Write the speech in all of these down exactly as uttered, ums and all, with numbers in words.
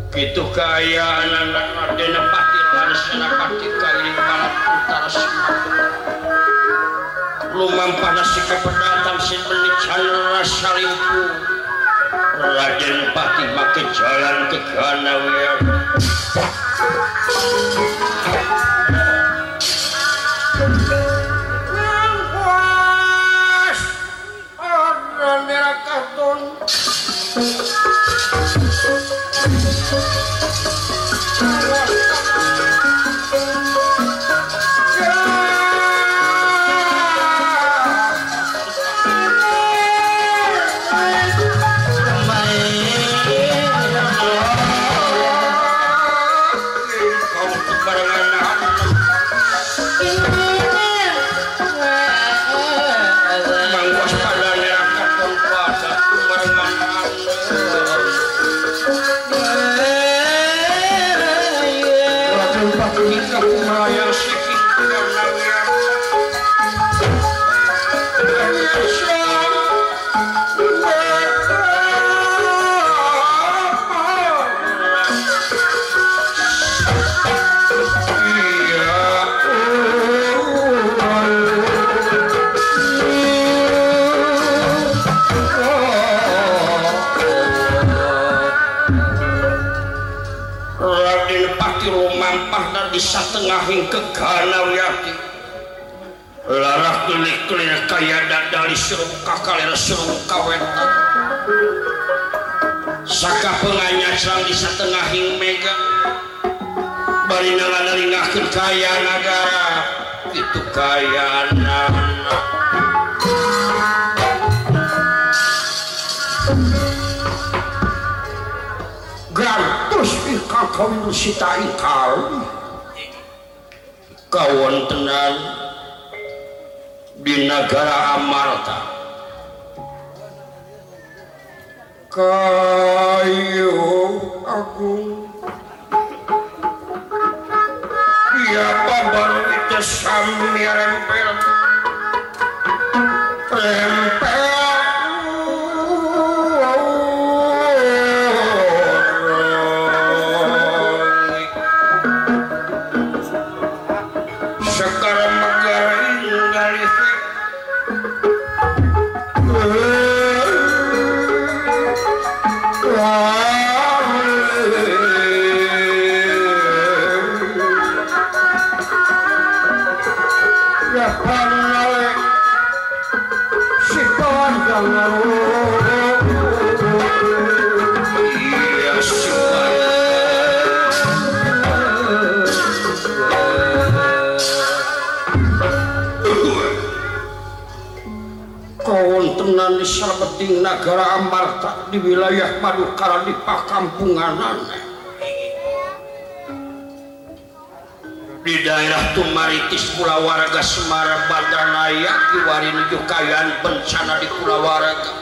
Gitu kaya anak Raden Patilan Senapati kali balat utara Sumatera. Lumampana si kepedatang sin menican rasa limpu. Raden Pati make jalan ke Kanawian. Nangkuas ada merah karton. Satengahing keganawiyati larah kelik-kelik kaya dadali suruh kakalera suruh kawetan saka penganya serang di satengahing mega bari nalingakeun kaya nagara itu kaya nana gantos ikakawin sita ikal kawontenan di negara Amarta kayu agung ya babar itu sami rempel rempel di sabeting negara Amarta di wilayah Madukara di pakampunganan di daerah Tumaritis Kulawarga Semara Bandarnaya kiwari nuju kayaan bencana di Kulawarga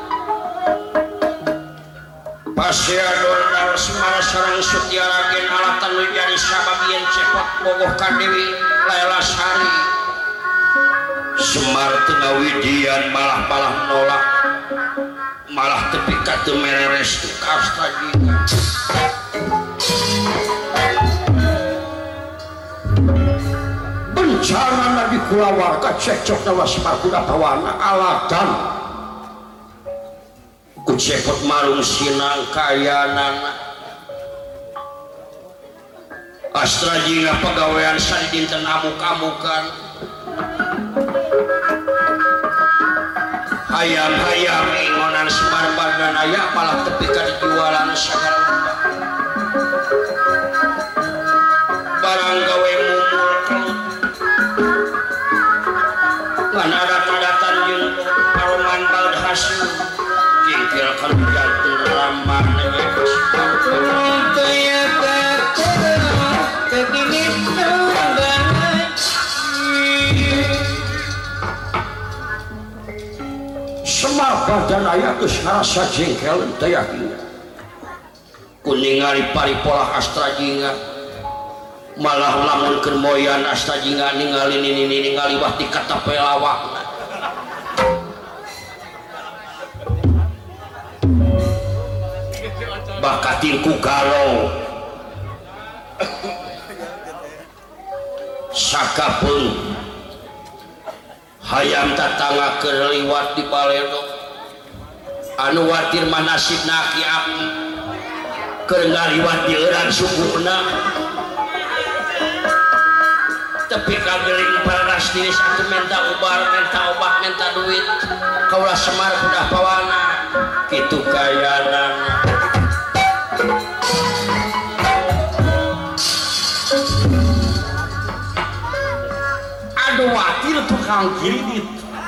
Pasiador Dal Semara sareng Sutiaragen alatan nu jadi sababieun cepot bogoh ka Dewi Lailasari Semar tengah widian malah malah nolak malah tepi katu mereres tu kasta juga bencana nabi Kulawarga cekcok nawa Semar kuda tawana alatan ku cepot marung sinang kayanan astra jingga pegawaian sadi dinten amuk-amukan hayam-hayam ingonan Semar Bandarnaya malah tepi ka dijualan sagala rupa barang gawe mumul kelut ngan adat-adatan jeung paroman bald hasil jingkil kan jantung ramah nege Semar Bandarnaya geus ngarasa jengkel teh yakin kuningali paripolah astra jingga malah lamunkeun moyan asta jinga ningali nini ningali wah ti kata pelawak bakatinku galau sakapun hayam tatangga kerliwat di balero anu watir manasib naki api kerengaliwat di eran sukuna tapi kageling paras diri satu minta ubar minta obat minta duit kaulah semar udah pawana gitu kayana aduh watir tukang kiridit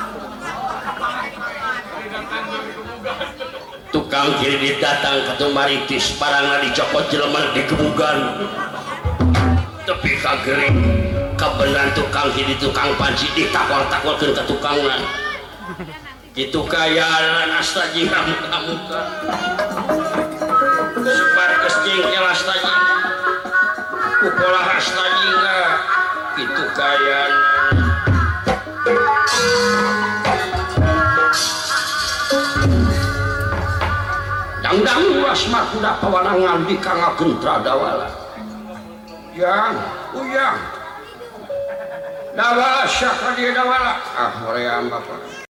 tukang kiridit datang ke tumaritis parangna dicopot jelema di kebugan tapi kageling kebenaran tukang kiridit tukang panci ditakwal-takwalkeun ka tukangna gitu kayana astaji muka-muka sebar kesjengkel astaji upolah astaji enggak gitu kayana dang-dang asmar kuda pawanangan di kangakeun Tradawala yang uyang dawala syah ka dieu dawala ah hoream bapak